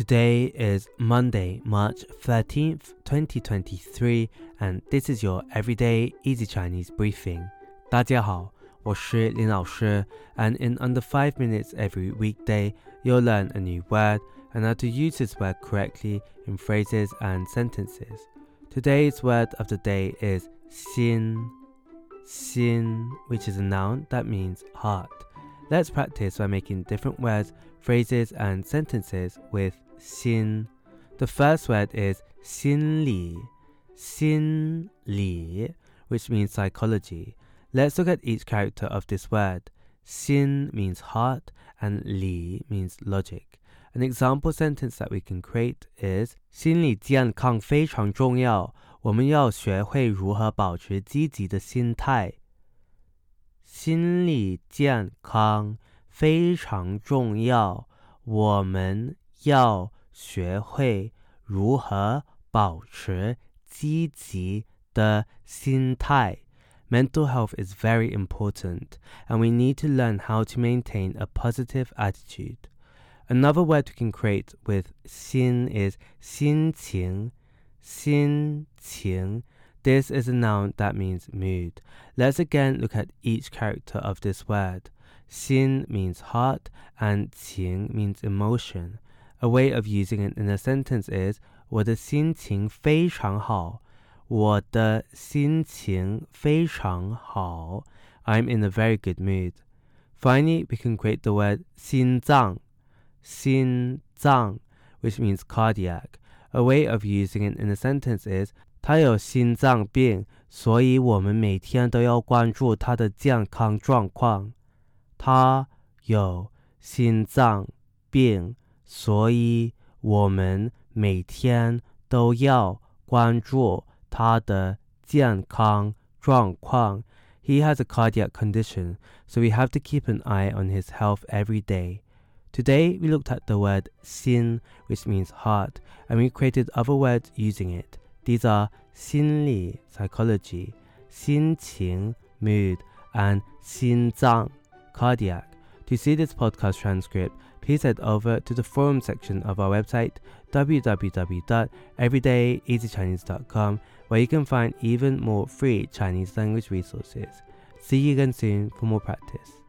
Today is Monday, March 13th, 2023, and this is your Everyday Easy Chinese Briefing. 大家好，我是林老师, and in under 5 minutes every weekday, you'll learn a new word and how to use this word correctly in phrases and sentences. Today's word of the day is 心, which is a noun that means heart. Let's practice by making different words, phrases, and sentences with 心. The first word is 心理, which means psychology. Let's look at each character of this word. 心 means heart and 理 means logic. An example sentence that we can create is 心理健康非常重要，我们要学会如何保持积极的心态。心理健康非常重要，我们要学会如何保持积极的心态。Mental health is very important, and we need to learn how to maintain a positive attitude. Another word we can create with 心 is 心情. This is a noun that means mood. Let's again look at each character of this word. 心 means heart and 情 means emotion. A way of using it in a sentence is 我的心情非常好。我的心情非常好。I'm in a very good mood. Finally, we can create the word 心脏, which means cardiac. A way of using it in a sentence is 他有心脏病，所以我们每天都要关注他的健康状况。他有心脏病，所以我们每天都要关注他的健康状况。He has a cardiac condition, so we have to keep an eye on his health every day. Today, we looked at the word 心, which means heart, and we created other words using it. These are 心理 psychology, 心情 mood, and 心脏 cardiac. To see this podcast transcript, please head over to the forum section of our website, www.everydayeasychinese.com, where you can find even more free Chinese language resources. See you again soon for more practice.